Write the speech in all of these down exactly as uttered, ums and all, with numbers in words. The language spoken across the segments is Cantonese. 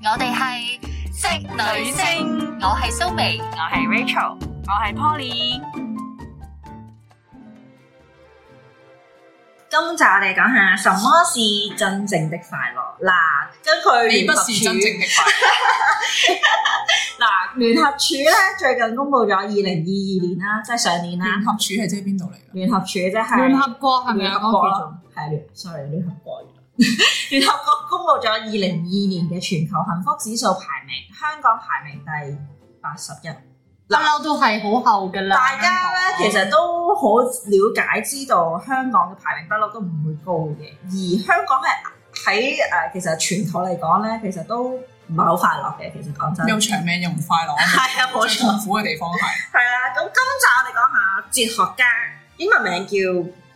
我哋係職女聲，我係蘇眉， 我係 Rachel， 我係 Poly。 今集我哋講下什麼是真正的快樂。嗱，根據聯合處， 你不是真正的快樂。 嗱，聯合處咧最近公布咗二零二二年啦，即係上年啦。 聯合處係即係邊度嚟嘅？ 聯合處即係聯合國係咪啊？ 聯合國係聯，sorry，聯合國。聯合國公布咗二零二二年嘅全球幸福指數排名，香港排名第八十一。 不嬲都係好後㗎啦。 大家咧其實都好了解知道香港嘅排名不嬲都唔會高嘅，而香港係喺誒其實全球嚟講咧，其實都唔係好快樂嘅。其實講真， 又長命又唔快樂， 係啊，冇錯。 痛苦嘅地方係係啊。咁今集我哋講下哲學家，英文名叫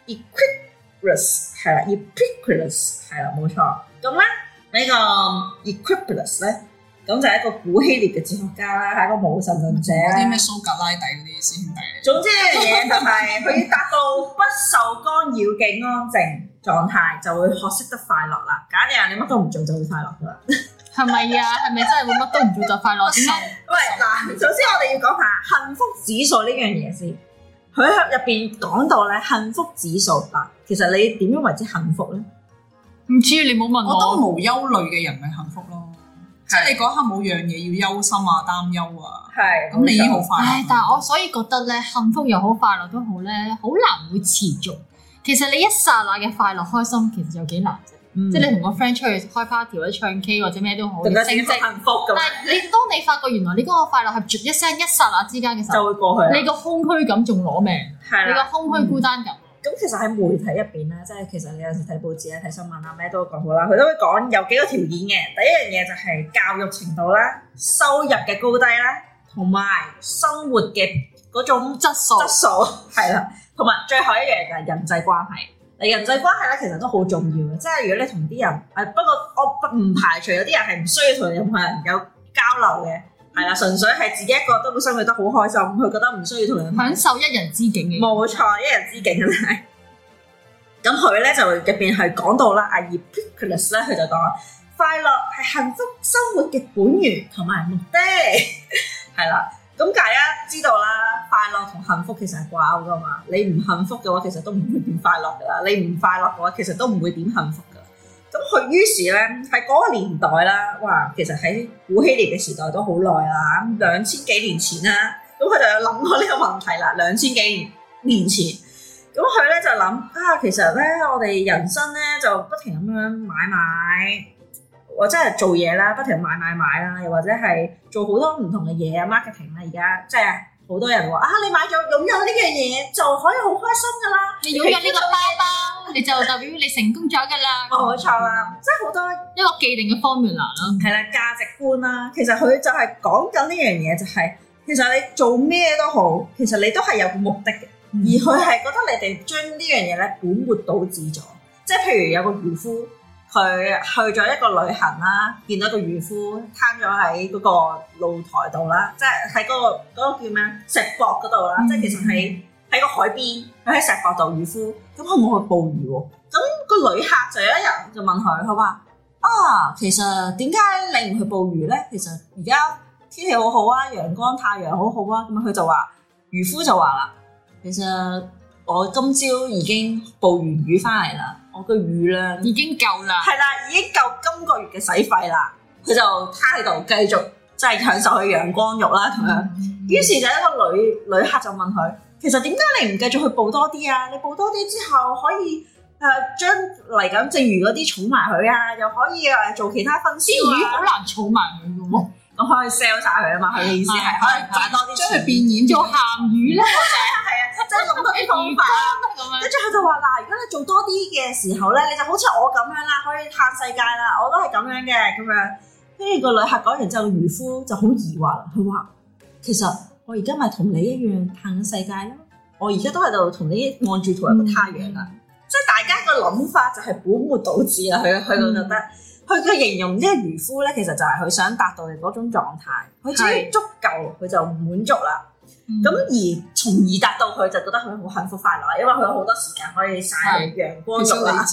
Epicurus， 係啦 ，Epicurus 係啦，冇錯。咁咧呢個 Epicurus 咧。咁就係一個古希臘嘅哲學家啦，係一個無神論者啦。 啲咩蘇格拉底嗰啲師兄弟。 總之一樣嘢就係佢要達到不受干擾嘅安靜狀態，就會學識得快樂啦。假如你乜都唔做就會快樂噶啦。係咪啊？係咪真係會乜都唔做就快樂？點解？ 喂，嗱，首先我哋要講下幸福指數呢樣嘢先。佢入邊講到咧幸福指數嗱，其實你點樣為之幸福咧？ 唔知你冇問我。我覺得無憂慮嘅人咪幸福咯。即係你嗰刻冇樣嘢要憂心啊、擔憂啊，係咁你已經好快樂。 但係我所以覺得咧，幸福又好、快樂都好咧，好難會持續。其實你一剎那嘅快樂、開心，其實有幾難啫。嗯、即係你同個 friend 出去開 party 或者唱 K 或者咩都好， 你升職幸福咁。但係你當你發覺原來你嗰個快樂係絕一聲一剎那之間嘅時候， 就會過去。 你個空虛感仲攞命，的你個空虛孤單感。 咁、嗯、其實喺媒體入邊咧，即係其實你有時睇報紙咧、睇新聞啊，咩都講好啦，佢都會講有幾個條件嘅。第一樣嘢就係教育程度啦、收入嘅高低啦，同埋生活嘅嗰種質素，質素係啦，同埋最後一樣就係人際關係。嗱，人際關係咧其實都好重要嘅，即係如果你同啲人誒，不過我唔排除有啲人係唔需要同任何人有交流嘅。係啦，純粹係自己一個都會生活得好開心，佢覺得唔需要同人享受一人之境嘅。 冇錯，一人之境啦。咁佢咧就入邊係講到啦，阿 Epicurus 咧佢就講快樂係幸福生活嘅本源同埋目的。係啦，咁大家知道啦，快樂同幸福其實係掛鈎噶嘛。你唔幸福嘅話，其實都唔會點快樂噶啦；你唔快樂嘅話，其實都唔會點幸福噶。咁佢於是咧喺嗰個年代啦，哇！其實喺古希臘嘅時代都好耐啦，咁兩千幾年前啦，咁佢就有諗過呢個問題啦。兩千幾年年前，咁佢咧就諗啊，其實咧我哋人生咧就不停咁樣買買，或者係做嘢啦，不停買買買啦，又或者係做好多唔同嘅嘢啊 marketing 啦，而家即係好多人話啊，你買咗擁有呢樣嘢就可以好開心噶啦， 你擁有呢個包包，你就代表你成功咗噶啦。 冇錯啦，即係好多一個既定嘅 formula 啦， 係啦，價值觀啦。其實佢就係講緊呢樣嘢，就係其實你做咩都好，其實你都係有個目的嘅。嗯、而佢係覺得你哋將呢樣嘢咧本末倒置咗。即係譬如有個漁夫，佢去咗一個旅行啦，見到一個漁夫攤咗喺嗰個露台度啦，即係喺嗰個嗰、嗰個叫咩石膊嗰度啦，嗯、即係其實喺喺個海邊，佢喺石膊度漁夫，咁佢冇去捕魚喎。咁、個旅客就有一日就問佢，佢話啊，其實點解你唔去捕魚咧？其實而家天氣好好啊，陽光太陽好好啊。咁佢就話，漁夫就話啦，其實我今朝已經捕完魚翻嚟啦，我個魚量已經夠啦， 係啦，已經夠今個月嘅使費啦。佢就攤喺度繼續即係享受佢陽光浴啦咁樣。於、嗯、是就一個旅旅客就問佢，其實點解你唔繼續去捕多啲啊？你捕多啲之後可以誒將嚟緊剩餘嗰啲儲埋佢啊，又可以誒做其他分銷啊。 啲魚好難儲埋佢嘅喎。 咁可以 sell 晒佢啊嘛，佢嘅意思係可以賺多啲錢， 將佢變現做鹹魚咧，我就係係啊，即係諗多啲方法。跟住佢就話嗱，如果你做多啲嘅時候咧，你就好似我咁樣啦，可以嘆世界啦，我都係咁樣嘅咁樣。跟住個旅客講完之後，漁夫就好疑惑啦，佢話其實我而家咪同你一樣嘆緊世界咯，我而家都喺度同你望住同一個太陽啦，嗯、即係大家個諗法就係本末倒置啦，佢佢就覺得。嗯佢佢形容呢個漁夫咧，其實就係佢想達到嘅嗰種狀態，佢只要足夠，佢就滿足啦。咁、嗯、而從而達到佢就覺得佢好幸福快樂，因為佢有好多時間可以曬陽光浴啦。 其實你知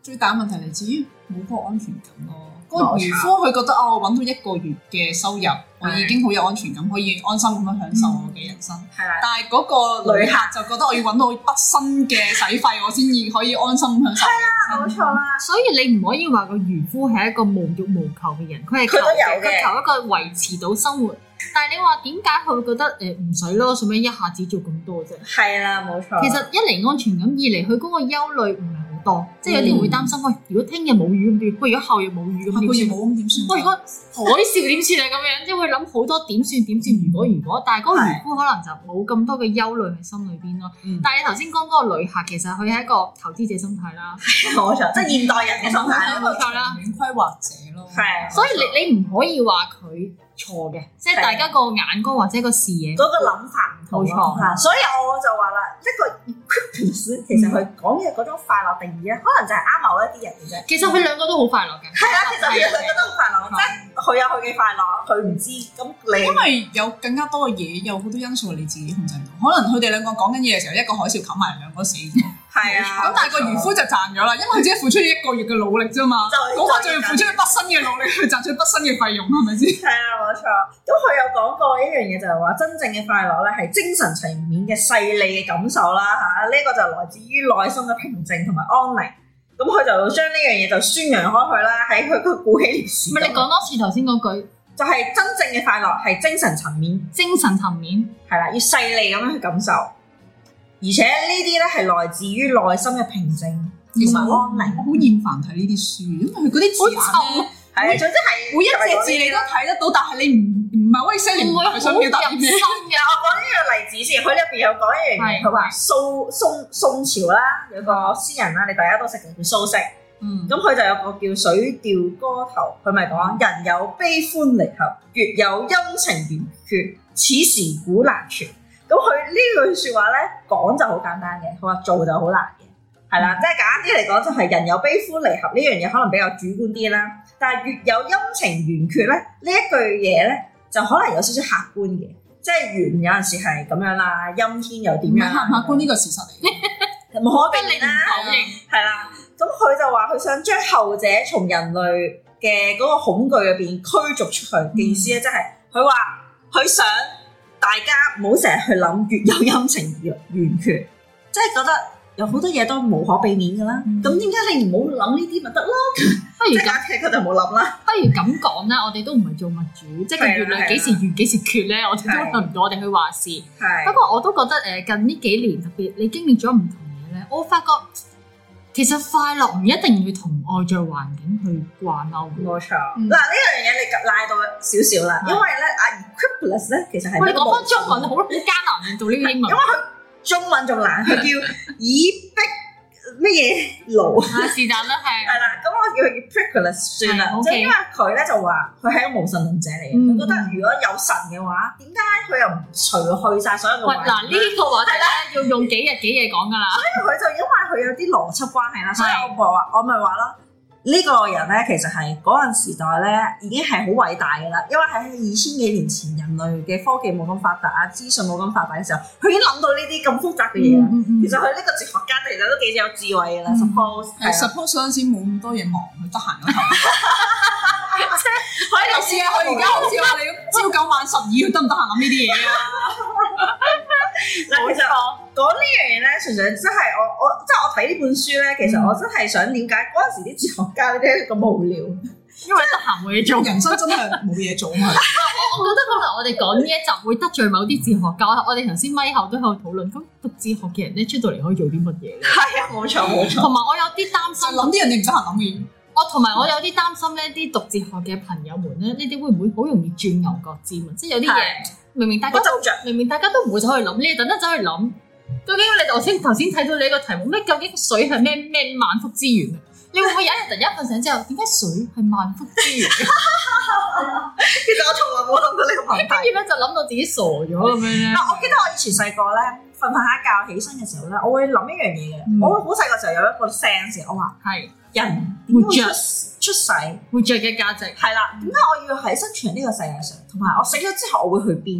最大問題嚟自於冇嗰個安全感咯。嗰、那個漁夫佢覺得哦，揾到一個月嘅收入，我已經好有安全感，可以安心咁樣享受我嘅人生。係啦、嗯，但係嗰個旅客就覺得我要揾到畢生嘅使費，我先至可以安心享受。係啦， 冇錯啦。 所以你唔可以話個漁夫係一個無欲無求嘅人，佢係求嘅，佢求一個維持到生活。但係你話點解佢會覺得誒唔使咯？做咩一下子做咁多啫？係啦，冇錯。其實一嚟安全感，二嚟佢嗰個憂慮唔係好多，即係有啲人會擔心，喂，如果聽日冇雨咁點？喂，如果後日冇雨咁點算？冇咁點算？喂，如果海嘯點算啊？咁樣即係會諗好多點算點算？如果如果，但係嗰個漁夫可能就冇咁多嘅憂慮喺心裏邊咯。但係你頭先講嗰個旅客，其實佢係一個投資者心態啦， 冇錯，即係現代人嘅心態， 冇錯啦， 長遠規劃者咯。係， 所以你你唔可以話佢錯嘅，即係大家個眼光或者個視野嗰個諗法唔同，冇錯。所以我就話啦，一個 Eclipse 其實佢講嘅嗰種快樂定義咧，可能就係啱某一啲人嘅啫。 其實佢兩個都好快樂嘅。係啊， 其實佢兩個都好快樂，即係佢有佢嘅快樂，佢唔知咁你。 因為有更加多嘅嘢，有好多因素你自己控制唔到。可能佢哋兩個講緊嘢嘅時候，一個海嘯冚埋，兩個死咗。 係啊， 咁但係個漁夫就賺咗啦，因為佢只係付出咗一個月嘅努力啫嘛，嗰個仲要付出咗畢生嘅努力去賺取畢生嘅費用，係咪先？ 係啊，冇錯。咁佢有講過一樣嘢，就係話真正嘅快樂咧係精神層面嘅細膩嘅感受啦嚇，呢、這個就來自於內心嘅平靜同埋安寧。咁佢就將呢樣嘢就宣揚開去啦，喺佢個古希臘時代。唔係你講多次頭先嗰句，就係真正嘅快樂係精神層面，精神層面係啦，要細膩咁樣去感受。而且呢啲咧係來自於內心嘅平靜同埋安寧。我好厭煩睇呢啲書，因為佢嗰啲字眼咧，係啊，總之係每一隻字你都睇得到，但係你唔唔係可以 say 你唔係想表達啲咩嘅。我講呢個例子先，佢入邊有講一樣嘢，佢話宋宋宋朝啦，有個詩人啦，你大家都識嘅叫蘇軾。嗯，咁佢就有個叫《水調歌頭》，佢咪講人有悲歡離合，月有陰晴圓缺，此時古難全。咁佢呢句説話咧講就好簡單嘅，佢話做就好難嘅，係啦，嗯、即係簡單啲嚟講就係人有悲歡離合呢樣嘢可能比較主觀啲啦，但係月有陰晴圓缺咧呢一句嘢咧就可能有少少客觀嘅，即係圓有陣時係咁樣啦，陰天又點樣？客客觀呢個事實嚟嘅，無可避免啦，係啦。咁佢就話佢想將後者從人類嘅嗰個恐懼入邊驅逐出去嘅、嗯、意思咧，即係佢話佢想。大家唔好成日去諗月有陰晴圓缺，即係覺得有好多嘢都無可避免㗎啦。咁點解你唔好諗呢啲咪得咯？不如咁，佢就冇諗啦。不如咁講啦，我哋都唔係做物主，即係個月亮幾時圓幾時缺咧，我哋都輪唔到我哋去話事。不過我都覺得誒近呢幾年特別，你經歷咗唔同嘢咧，我發覺其實快樂唔一定要同外在環境去掛鈎。冇錯。嗱呢樣嘢你賴到少少啦，因為咧阿 Eclipse 咧其實係我哋講翻中文好好艱難做呢個英文，因為佢中文仲難，佢叫以逼乜嘢勞啊？是但啦，係係啦，咁我叫佢 Eclipse 算啦，即係因為佢咧就話佢係一個無神論者嚟嘅，佢覺得如果有神嘅話，點解佢又唔除去晒所有嘅？喂，嗱呢個話題咧要用幾日幾夜講噶啦，所以佢就因為佢有啲邏輯關係啦，所以我咪話我咪話咯。呢個人咧，其實係嗰陣時代咧，已經係好偉大嘅啦。因為喺二千幾年前，人類嘅科技冇咁發達啊，資訊冇咁發達嘅時候，佢已經諗到呢啲咁複雜嘅嘢啦。嗯嗯嗯、其實佢呢個哲學家其實都幾有智慧嘅啦。嗯、Suppose 係 Suppose 嗰陣時冇咁多嘢忙，佢得閒嗰頭。可以試下佢而家好似話你朝九晚十二，佢得唔得閒諗呢啲嘢啊？冇錯，講呢樣嘢咧，純粹真係我我即係我睇呢本書咧，其實我真係想了解嗰陣時啲哲學家呢啲咁無聊，因為得閒冇嘢做，人生真係冇嘢做嘛。我覺得可能我哋講呢一集會得罪某啲哲學家，我哋頭先咪後都喺度討論，咁讀哲學嘅人咧出到嚟可以做啲乜嘢咧？係啊，冇錯冇錯。同埋我有啲擔心，諗啲人哋唔得閒諗嘅嘢。我同埋我有啲擔心咧，啲讀哲學嘅朋友們咧，你哋會唔會好容易轉牛角尖啊？即係有啲嘢明明大家明明大家都唔會走去諗，你哋等得走去諗。究竟你頭先頭先睇到你個題目咩？究竟水係咩咩萬福之源啊？你會唔會有一日突然間瞓醒之後，點解水係萬福之源？其實我從來冇諗過呢個問題，跟住咧就諗到自己傻咗咁樣咧。嗱，我記得我以前細個咧瞓瞓下覺起身嘅時候咧，我會諗一樣嘢嘅。嗯、我好細個時候有一個 sense，我話係。人活着出世活着嘅價值係啦，點解我要喺生存呢個世界上？同埋我死咗之後我會去邊？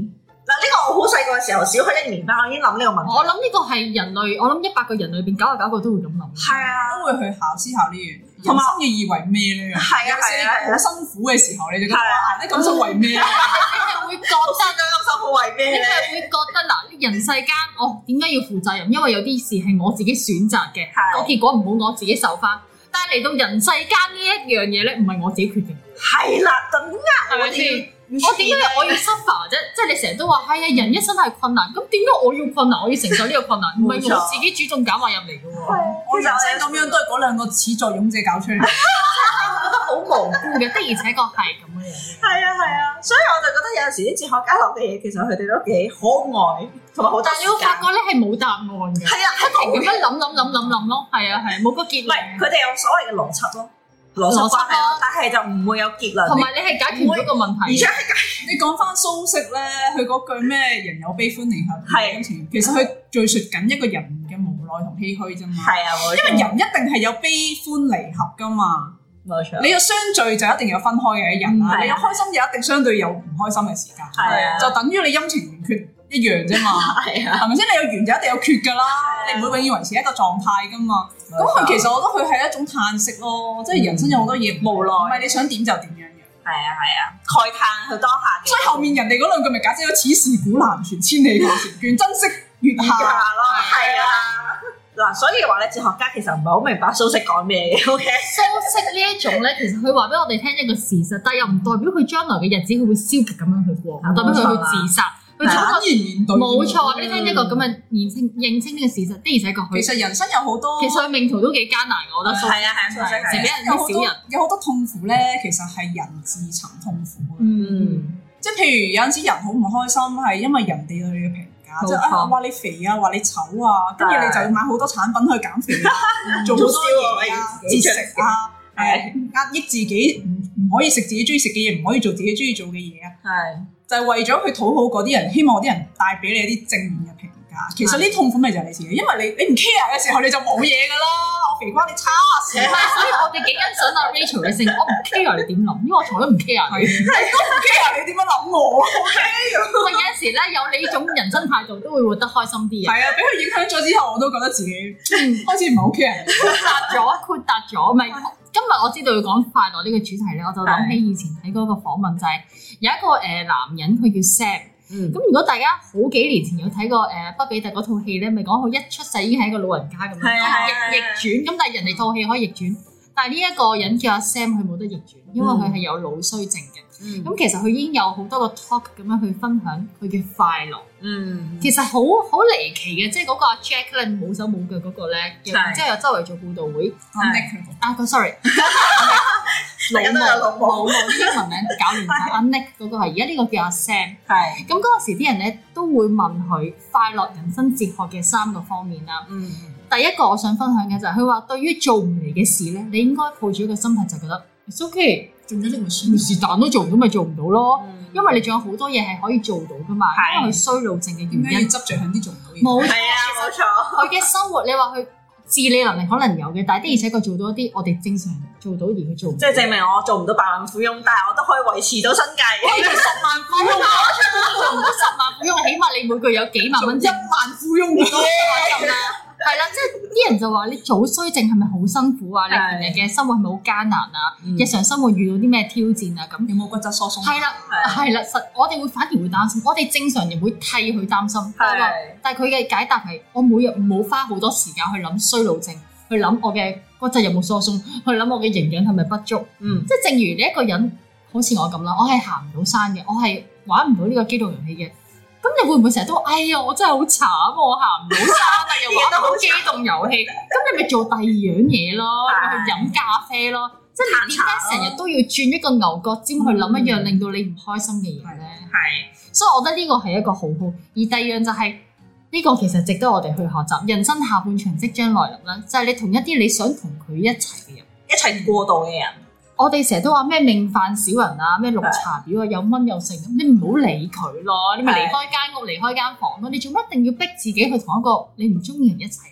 嗱，呢個我好細個嘅時候，小學一年班，我已經諗呢個問題。 我諗呢個係人類，我諗一百個人裏邊九十九個都會咁諗。係啊，都會去考思考呢樣嘢。人生嘅意為咩咧？ 係啊係啊， 好辛苦嘅時候，你就覺得你咁辛苦為咩？你係會覺得咁辛苦為咩？ 你係會覺得嗱，人世間我點解要負責任？因為有啲事係我自己選擇嘅，個結果唔好我自己受翻。但係嚟到人世間呢一樣嘢咧，唔係我自己決定嘅。 係啦，咁啊， 係咪先？我點解我要 suffer 啫？即係你成日都話係啊，人一生係困難，咁點解我要困難？我要承受呢個困難，唔係我自己主動揀話入嚟嘅喎。 我人生咁樣都係嗰兩個始作俑者搞出嚟， 好無辜嘅，的而且確係咁樣。 係啊係啊，所以我就覺得有陣時啲哲學家講嘅嘢，其實佢哋都幾可愛，同埋好多時間。但係你會發覺咧係冇答案嘅，係啊，不停咁樣諗諗諗諗諗咯，係啊係，冇個結論。唔係，佢哋有所謂嘅邏輯咯。邏輯關係咯，但係就唔會有結論。同埋你係解決唔到個問題。而且係解決。你講翻蘇軾咧，佢嗰句咩人有悲歡離合嘅情，其實佢敘述緊一個人嘅無奈同唏噓啫嘛。係啊，因為人一定係有悲歡離合噶嘛。冇錯。你有相聚就一定有分開嘅一日啦。你有開心就一定相對有唔開心嘅時間。係啊。就等於你陰晴圓缺一樣啫嘛。係啊。係咪先？你有圓就一定有缺㗎啦。你唔會永遠維持一個狀態㗎嘛。咁佢其實我覺得佢係一種嘆息咯，即係人生有好多嘢無奈，唔係你想點就點樣嘅。係啊係啊，慨嘆佢當下嘅。所以後面人哋嗰兩句咪解釋咗：此事古難全，千里求前緣，珍惜月下咯。係啊，嗱，所以話咧，哲學家其實唔係好明白蘇軾講咩嘅。O K， 蘇軾呢一種咧，其實佢話俾我哋聽一個事實，但係又唔代表佢將來嘅日子佢會消極咁樣去過，唔代表佢去自殺。佢坦然面對，冇錯。你聽一個咁嘅認清認清呢個事實，的而且確佢。其實人生有好多，其實佢命途都幾艱難，我覺得。係啊係啊，成俾人啲小人有好多痛苦咧，其實係人自尋痛苦嘅。嗯，即係譬如有陣時人好唔開心，係因為人哋對你嘅評價，即係啊話你肥啊，話你醜啊，跟住你就要買好多產品去減肥啊，做好多嘢啊，節食啊，誒壓抑自己，唔唔可以食自己中意食嘅嘢，唔可以做自己中意做嘅嘢啊。係。就係為咗去討好嗰啲人，希望嗰啲人帶俾你一啲正面嘅評價。其實呢啲痛苦咪就係你自己，因為你你唔 care 嘅時候你就冇嘢㗎啦。我肥關你叉事，所以我哋幾欣賞阿 Rachel 嘅性，我唔 care 你點諗，因為我從來都唔 care 你。你都唔 care 你點樣諗我 ？OK。喂，有陣時咧有你呢種人生態度，都會活得開心啲嘅。係啊，俾佢影響咗之後，我都覺得自己開始唔係好 care。豁達咗，豁達咗，咪。今日我知道要講快樂呢個主題咧，我就諗起以前睇嗰個訪問，就係有一個誒男人，佢叫 Sam。嗯。咁如果大家好幾年前有睇過誒畢彼特嗰套戲咧，咪講佢一出世已經係一個老人家咁樣，逆逆轉。咁但係人哋套戲可以逆轉，但係呢一個人叫阿 Sam，佢冇得逆轉，因為佢係有腦衰症嘅。嗯。咁其實佢已經有好多個 talk 咁樣去分享佢嘅快樂。嗯。其實好好離奇嘅，即係嗰個阿 Jack 咧冇手冇腳嗰個咧，然之後又周圍做佈道會。啊個 sorry，老母老母英文名搞亂晒。阿 Nick 嗰個係而家呢個叫阿 Sam。係。咁嗰陣時啲人咧都會問佢快樂人生哲學嘅三個方面啦。嗯。第一個我想分享嘅就係佢話，對於做唔嚟嘅事咧，你應該抱住一個心態就覺得 it's okay，做咗呢個事，是但都做唔到咪做唔到咯。因為你仲有好多嘢係可以做到噶嘛。因為佢衰老症嘅原因。點解要執著喺啲做唔到嘢？冇錯，冇錯。佢嘅生活，你話佢自理能力可能有嘅，但係的而且確做到一啲我哋正常做到而佢做唔到。即係證明我做唔到百萬富翁，但係我都可以維持到生計。我做十萬富翁，做唔到十萬富翁，起碼你每個月有幾萬蚊，一萬富翁咁啦。係啦，即係啲人就話你早衰症係咪好辛苦啊？你平日嘅生活係咪好艱難啊？日常生活遇到啲咩挑戰啊？咁有冇骨質疏鬆？係啦，係啦，實我哋會反而會擔心，我哋正常人會替佢擔心。係，但係佢嘅解答係，我每日冇花好多時間去諗衰老症，去諗我嘅骨質有冇疏鬆，去諗我嘅營養係咪不足。嗯，即係正如你一個人好似我咁啦，我係行唔到山嘅，我係玩唔到呢個機動遊戲嘅。咁你會唔會成日都哎呀，我真係好慘，我行唔到山啊，又玩唔到機動遊戲，咁你咪做第二樣嘢咯，去飲咖啡咯，即係你點解成日都要轉一個牛角尖去諗一樣令到你唔開心嘅嘢咧？係，所以我覺得呢個係一個好好。而第二樣就係呢個其實值得我哋去學習。人生下半場即將來臨啦，就係你同一啲你想同佢一齊嘅人一齊過渡嘅人。我哋成日都話咩命犯小人啊，咩綠茶婊啊，有蚊有剩，你唔好理佢咯，你咪離開間屋，離開間房咯。你做乜一定要逼自己去同一個你唔中意人一齊咧？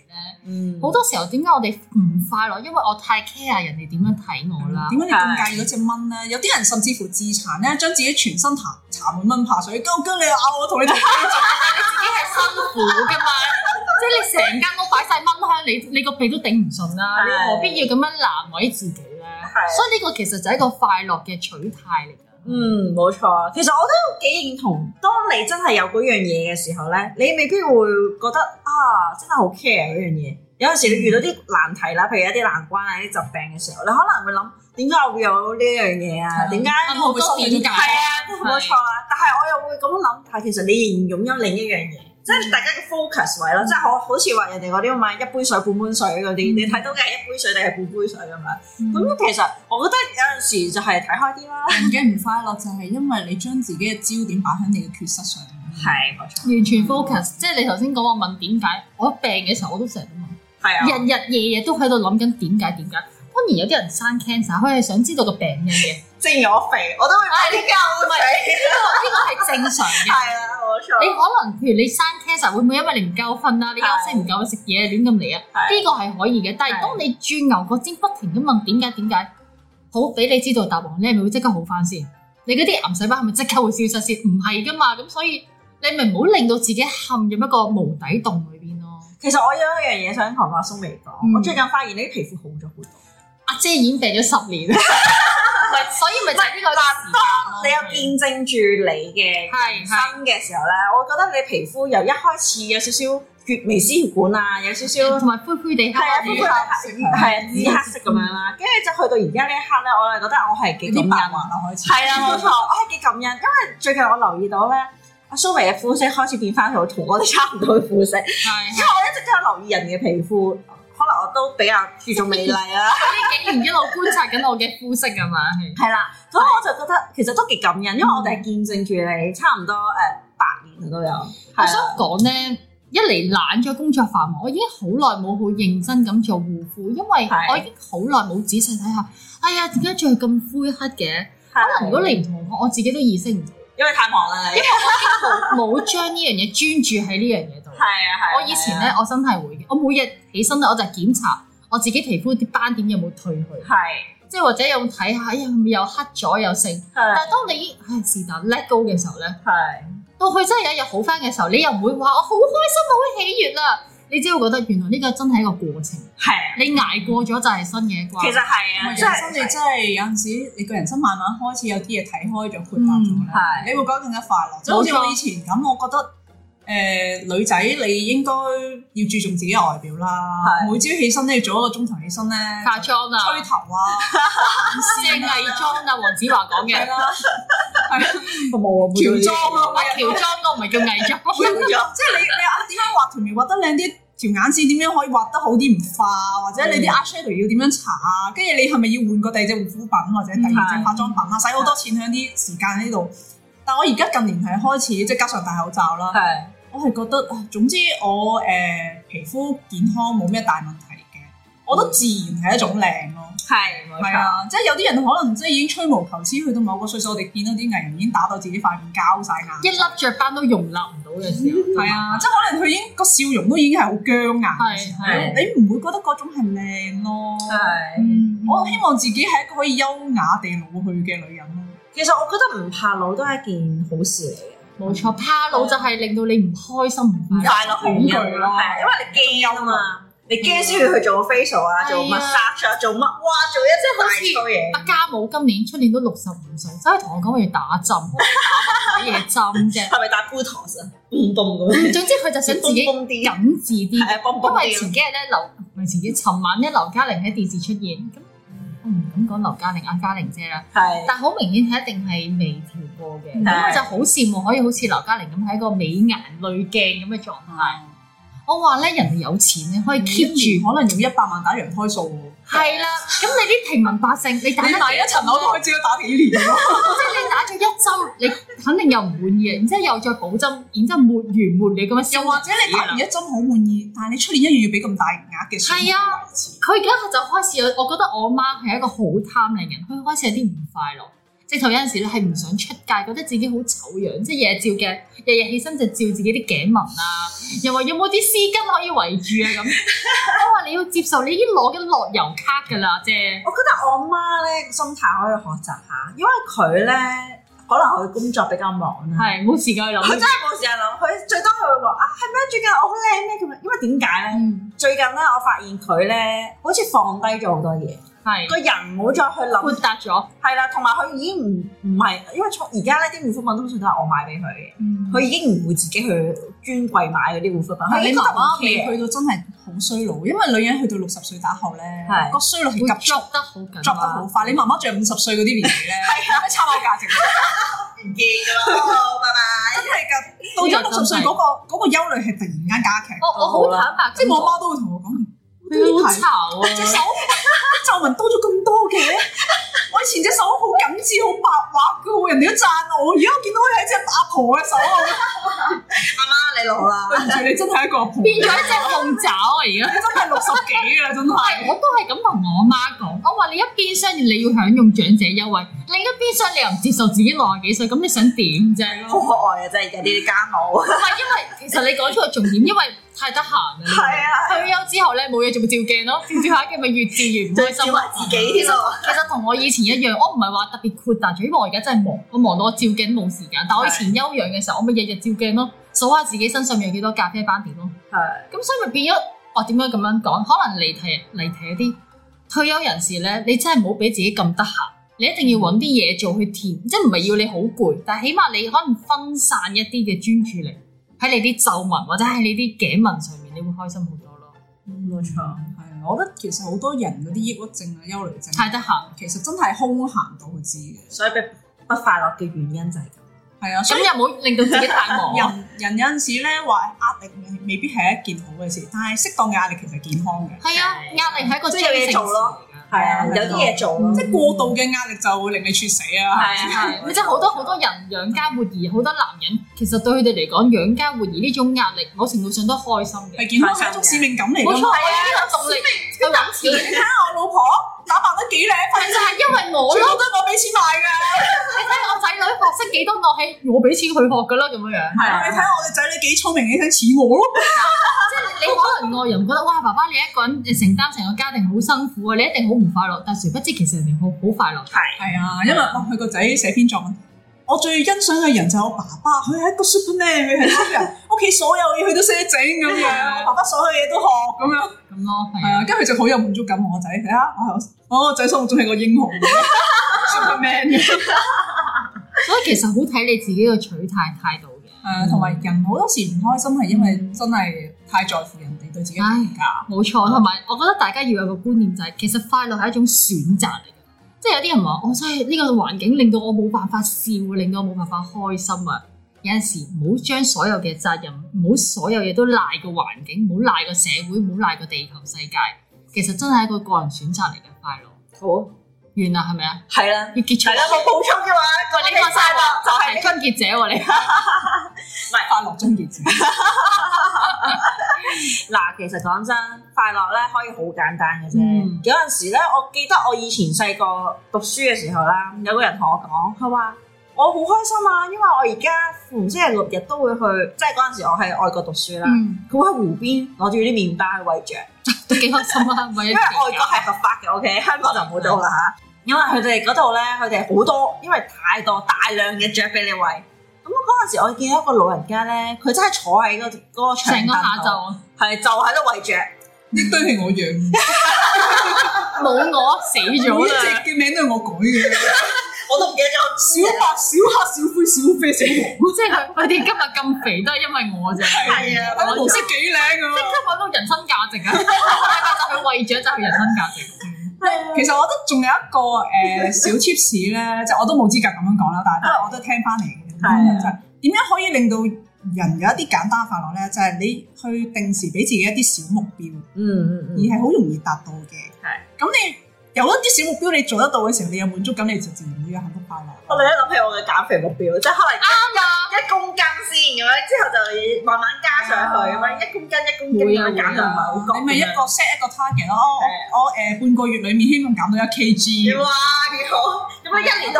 嗯，好多時候點解我哋唔快樂？因為我太 care 人哋點樣睇我啦。 點解你咁介意嗰隻蚊咧？有啲人甚至乎自殘咧，將自己全身搽搽滿蚊怕水，究竟你咬我同你同你做， 你自己係辛苦噶嘛？即係你成間屋擺晒蚊香，你你個鼻都頂唔順啦，你何必要咁樣難為自己咧？所以呢個其實就係一個快樂嘅取態嚟㗎。 嗯，冇錯。其實我都幾認同，當你真係有嗰樣嘢嘅時候咧，你未必會覺得啊，真係好 care 嗰樣嘢。有陣時你遇到啲難題啦，譬如一啲難關啊、啲疾病嘅時候，你可能會諗點解我會有呢一樣嘢啊？點解我會點解？ 係啊，冇錯啊。但係我又會咁樣諗，但係其實你仍然擁有另一樣嘢。即係大家嘅 focus 位咯，即係好好似話人哋嗰啲咁啊，一杯水半杯水嗰啲，你睇到嘅係一杯水定係半杯水咁樣。咁其實我覺得有陣時就係睇開啲啦。 人嘅唔快樂就係因為你將自己嘅焦點擺喺你嘅缺失上面。 係冇錯， 完全 focus。即係你頭先講我問點解，我病嘅時候我都成日都問， 係啊， 日日夜夜都喺度諗緊點解點解。當然有啲人生 cancer，佢係想知道個病因嘅。 正如我肥，我都會買啲膠水。 呢個呢個係正常嘅。 係啊，冇錯。 你可能譬如你生 cancer 會唔會因為你唔夠瞓啊？你休息唔夠食嘢亂咁嚟啊？呢個係可以嘅。但係當你轉牛角尖，不停咁問點解點解，好俾你知道答案，你係咪會即刻好翻先？你嗰啲癌細胞係咪即刻會消失先？唔係噶嘛。咁所以你咪唔好令到自己陷入一個無底洞裏邊咯。 其實我有一樣嘢想同阿蘇眉講，我最近發現你啲皮膚好咗好多。阿姐已經病咗十年，所以咪就係呢個時間。 當你有見證住你嘅人生嘅時候咧，我覺得你皮膚由一開始有少少血微絲血管啊，有少少同埋灰灰地黑， 係啊，灰灰地黑，係啊，紫黑色咁樣啦。跟住就去到而家呢一刻咧，我係覺得我係幾感恩啊！開始係啦，冇錯，我係幾感恩，因為最近我留意到咧，阿蘇眉嘅膚色開始變翻好同我哋差唔多嘅膚色，因為我一直都有留意人嘅皮膚。可能我都比較注重美麗啦。 呢幾年一路觀察緊我嘅膚色啊嘛，係。 係啦，咁我就覺得其實都幾感恩，因為我哋係見證住你差唔多誒八年都有。 我想講咧，一嚟懶咗工作繁忙，我已經好耐冇好認真咁做護膚，因為我已經好耐冇仔細睇下，哎呀點解仲係咁灰黑嘅？可能如果你唔同我，我自己都意識唔到。 因為太忙啦， 因為我已經冇冇將呢樣嘢專注喺呢樣嘢度。 係啊係。 我以前咧，我真係會嘅。我每日起身咧，我就檢查我自己皮膚啲斑點有冇退去。 係。即係或者有睇下，哎呀，又黑咗又剩。但係當你已經唉是但 let go 嘅時候咧，係。到佢真係有一日好翻嘅時候，你又唔會話我好開心好喜悅啦。你只會覺得原來呢個真係一個過程。係。你捱過咗就係新嘅一關。 其實係啊， 即係真係真係有陣時，你個人生慢慢開始有啲嘢睇開咗、豁達咗咧，你會覺得更加快樂。即係好似我以前咁，我覺得誒女仔你應該要注重自己嘅外表啦。每朝起身都要早一個鐘頭起身咧， 化妝啊、 吹頭啊、 即係偽裝啊。黃子華講嘅啦， 係冇啊，喬裝啊， 喬裝我唔係叫偽裝， 即係你你啊點樣畫條眉畫得靚啲？條眼線點樣可以畫得好啲唔化，或者你啲 eyeshadow 要點樣搽啊？跟住你係咪要換個第二隻護膚品或者第二隻化妝品啊？使好多錢喺啲時間喺度。但我而家近年係開始即係加上戴口罩啦，係我係覺得總之我誒、呃、皮膚健康冇咩大問題嘅，我覺得自然係一種靚咯。係，係啊，即係有啲人可能即係已經吹毛求疵，去到某個歲數，我哋見到啲藝人已經打到自己塊面膠晒眼，一粒雀斑都容納唔到嘅時候，係啊，即係可能佢已經個笑容都已經係好僵硬嘅時候，你唔會覺得嗰種係靚咯。係，我希望自己係一個可以優雅地老去嘅女人咯。其實我覺得唔怕老都係一件好事嚟嘅。冇錯，怕老就係令到你唔開心、唔快樂、恐懼咯。係啊，因為你驚啊嘛。你驚先要去做個 facial 啊，做 massage 啊，做乜？哇！做一隻大粗嘢。阿家母今年出年都六十五歲，走去同我講要打針，打乜嘢針啫？係咪打 Botox 啊？嘣嘣咁。總之佢就想自己緊緻啲，因為前幾日咧劉唔係前幾，尋晚咧劉嘉玲喺電視出現，咁我唔敢講劉嘉玲阿嘉玲姐啦，係，但好明顯係一定係微調過嘅，咁我就好羨慕可以好似劉嘉玲咁喺一個美顏濾鏡咁嘅狀態。我話咧，人哋有錢咧，可以 keep 住，可能用一百萬打羊胎素喎。係啦，咁你啲平民百姓，你打你買一層樓都可以知道打幾年咯。即係你打咗一針，你肯定又唔滿意，然之後又再補針，然之後沒完沒了咁樣。又或者你打完一針好滿意，但係你出年一月要俾咁大額嘅數。係啊，佢而家就開始有，我覺得我媽係一個好貪靚人，佢開始有啲唔快樂。直直頭有陣時咧係唔想出街，覺得自己好醜樣，即係日日照鏡，日日起身就照自己啲頸紋啊，又話有冇啲絲巾可以圍住啊咁。我話你要接受，你已經攞緊樂悠卡㗎啦啫。 我覺得我媽咧心態可以學習下，因為佢咧。可能佢工作比較忙啦， 係冇時間去諗。佢真係冇時間諗，佢最多佢會話啊，係咩？最近我好靚咩？咁樣，因為點解咧？嗯、最近咧，我發現佢咧好似放低咗好多嘢，係個是人唔好再去諗，豁達咗。係啦，同埋佢已經唔唔係，因為從而家咧啲護膚品通常都係我買俾佢嘅，佢、嗯、已經唔會自己去專櫃買嗰啲護膚品。係你媽媽未去到真係好衰老，因為女人去到六十歲打後咧，個衰老係急速得好緊，急得好快。你媽媽仲有五十歲嗰啲年紀咧，係參考價值。唔見㗎咯，拜拜！真係㗎，到咗六十歲嗰個嗰個憂慮係突然間加劇。 我我好坦白， 即係我媽都會同我講， 好嘈啊！ 隻手皺紋多咗咁多嘅，我以前隻手好緊緻、好白滑嘅喎，人哋都讚我，而家我見到佢係一隻阿婆嘅手啊！阿媽你老啦，對唔住，你真係一個阿婆， 變咗一隻鳳爪啊！而家真係六十幾㗎啦，真係。 我都係咁同我媽講，我話你一邊廂你要享用長者優惠，另一邊廂你又唔接受自己六十幾歲，咁你想點啫？ 好可愛啊！真係有啲啲家母。 唔係因為其實你講出個重點，因為太得閒啦。係啊。退休之後咧，冇嘢做咪照鏡咯，照照下鏡咪越照越唔開心。照下自己添咯。其實同我以前一樣，我唔係話特別豁達咗，因為我而家真係忙，我忙到我照鏡冇時間。但我以前休養嘅時候，我咪日日照鏡咯，數下自己身上面有幾多咖啡斑點咯。係。咁所以咪變咗，我點解咁樣講？可能離題離題一啲。退休人士咧，你真係唔好俾自己咁得閒，你一定要揾啲嘢做去填，即係唔係要你好攰，但係起碼你可能分散一啲嘅專注力喺你啲皺紋或者喺你啲頸紋上面，你會開心好多咯。 冇錯，係啊，我覺得其實好多人嗰啲抑鬱症啊、憂慮症太得閒， 其實真係空閒到知嘅，所以不快樂嘅原因就係咁。係啊， 咁又唔好令到自己太忙。 人人有陣時咧話壓力未必係一件好嘅事，但係適當嘅壓力其實係健康嘅。係啊，壓力係一個即係有嘢做咯。係啊，有啲嘢做咯。即係過度嘅壓力就會令你猝死啊。 係啊係，即係好多好多人養家活兒，好多男人其實對佢哋嚟講，養家活兒呢種壓力，某程度上都開心嘅。係健康係一種使命感嚟㗎嘛。冇錯，係啊，呢個動力去揾錢。你睇下我老婆打扮得幾靚，就係因為我咯，全部都係我俾錢買㗎。你睇我仔女學識幾多樂器，我俾錢佢學㗎啦，咁樣樣。係啊，你睇下我哋仔女幾聰明，你睇似我咯。即係你可能外人覺得哇，爸爸你一個人承擔成個家庭好辛苦啊，你一定好唔快樂。但係殊不知其實人哋好好快樂。係係啊，因為哇，佢個仔寫篇作文，我最欣賞嘅人就係我爸爸，佢係一個 Superman，佢係超人，屋企所有嘢佢都識得整咁樣，我爸爸所有嘢都學咁樣。咁咯，係啊，跟住佢就好有滿足感。我仔睇下，我我個仔心目中係個英雄 Superman 嘅。所以其實好睇你自己嘅取態態度嘅。係啊，同埋人好多時唔開心係因為真係太在乎人哋對自己嘅評價。冇錯，同埋我覺得大家要有個觀念就係，其實快樂係一種選擇嚟嘅。即係有啲人話，我真係呢個環境令到我冇辦法笑，令到我冇辦法開心啊！有陣時唔好將所有嘅責任，唔好所有嘢都賴個環境，唔好賴個社會，唔好賴個地球世界。其實真係一個個人選擇嚟嘅快樂。好，完啦，係咪啊？係啦，要結束。係啦，冇補充嘅話，喂，你講晒啦，就係終結者喎，你唔係快樂終結者。嗱，其實講真，快樂咧可以好簡單嘅啫。嗯、有陣時咧，我記得我以前細個讀書嘅時候啦，有個人同我講，佢話我好開心啊，因為我而家逢星期六日都會去，即係嗰陣時我喺外國讀書啦，佢、嗯、會喺湖邊攞住啲麵包去餵雀，都幾開心啊！因為外國係合法嘅 ，OK， 香港就冇到啦嚇。因為佢哋嗰度咧，佢哋好多，因為太多大量嘅雀俾你餵。咁嗰陣時，我見到一個老人家咧，佢真係坐喺嗰嗰個長凳度，係就喺度餵雀。呢堆係我養，冇我死咗啦！隻嘅名都係我改嘅，我都唔記得咗。小白、小黑、小灰、小啡、小黃，即係佢佢哋今日咁肥都係因為我啫。係啊，我模式幾靚啊！即刻揾到人生價值啊！就去餵雀就係人生價值。其實我覺得仲有一個誒小 tips 咧，即係我都冇資格咁樣講啦，但係都係我都聽翻嚟嘅。係就係點樣可以令到人有一啲簡單快樂咧？就係、是、你去定時俾自己一啲小目標，嗯嗯嗯，而係好容易達到嘅。係咁的你有一啲小目標，你做得到嘅時候，你有滿足感，你就自然會有幸福快樂。我哋一諗起我嘅減肥目標，即係可能啱啊，一公斤先咁樣，之後就慢慢加上去咁樣，一公斤一公斤咁樣減就唔係好高。你咪一個 set 一個 target 咯，我誒半個月裡面希望減到一 kg。哇，幾好！咁樣一年都可以減到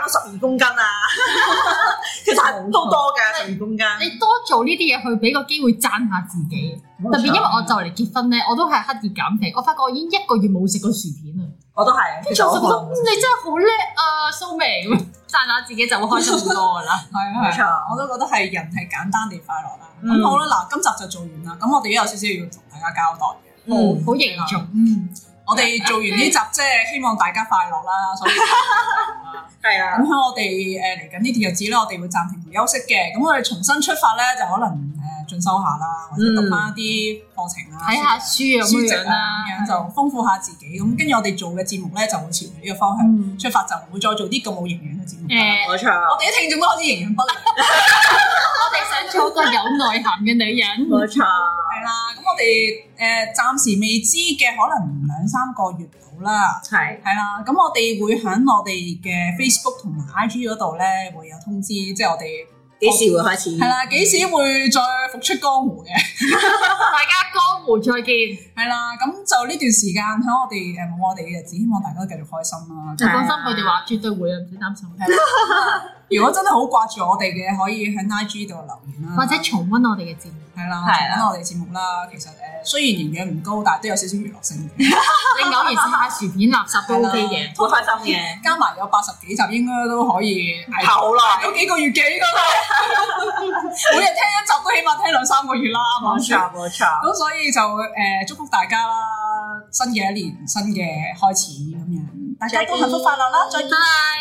到十二公斤啊！其實係都多嘅十二公斤。 你多做呢啲嘢去俾個機會讚下自己，特別因為我就嚟結婚咧，我都係刻意減肥。我發覺我已經一個月冇食過薯片啦。 我都係， 跟住我就覺得你真係好叻啊，蘇眉咁讚下自己就會開心好多噶啦。 係啊，冇錯，我都覺得係人係簡單地快樂啦。咁好啦，嗱，今集就做完啦。咁我哋都有少少要同大家交代嘅， 好好凝重。 嗯，我哋做完呢集即係希望大家快樂啦，所以係啊。 咁喺我哋誒嚟緊呢段日子咧，我哋會暫停休息嘅。咁我哋重新出發咧，就可能誒進修下啦，或者讀翻一啲課程啊， 睇下書啊咁樣啦， 咁樣就豐富下自己。咁跟住我哋做嘅節目咧，就會朝住呢個方向出發，就唔會再做啲咁冇營養嘅節目。 誒， 冇錯， 我哋啲聽眾都開始營養不良。 我哋想做個有內涵嘅女人。 冇錯， 係啦。咁我哋誒暫時未知嘅，可能兩三個月到啦。 係係啦。咁我哋會喺我哋嘅 Facebook 同埋 I G 嗰度咧，會有通知，即係我哋幾時會開始？ 係啦，幾時會再復出江湖嘅？ 大家江湖再見。 係啦，咁就呢段時間喺我哋誒冇我哋嘅日子，希望大家都繼續開心啦。 就放心，佢哋話絕對會啊，唔使擔心。 係啦，如果真係好掛住我哋嘅，可以喺 I G 度留言啦， 或者重溫我哋嘅節目。 係啦，重溫我哋節目啦。其實誒，雖然營養唔高，但係都有少少娛樂性嘅。 你偶然食下薯片垃圾都 OK 嘅， 好開心嘅。 加埋有八十幾集，應該都可以捱好耐， 有幾個月幾個啦。每日聽一集都起碼聽兩三個月啦， 冇錯冇錯。 咁所以就誒祝福大家啦，新嘅一年新嘅開始咁樣，大家都幸福快樂啦，再見。